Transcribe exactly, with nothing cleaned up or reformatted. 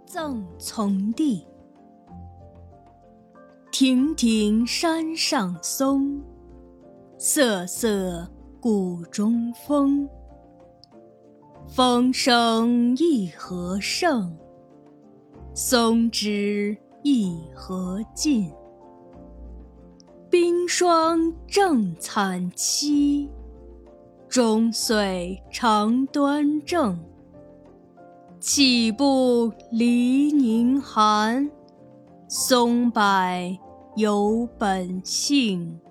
赠从弟。亭亭山上松，瑟瑟谷中风。风声一何盛，松枝一何尽。冰霜正惨凄，终岁常端正。岂不离宁寒，松柏有本性。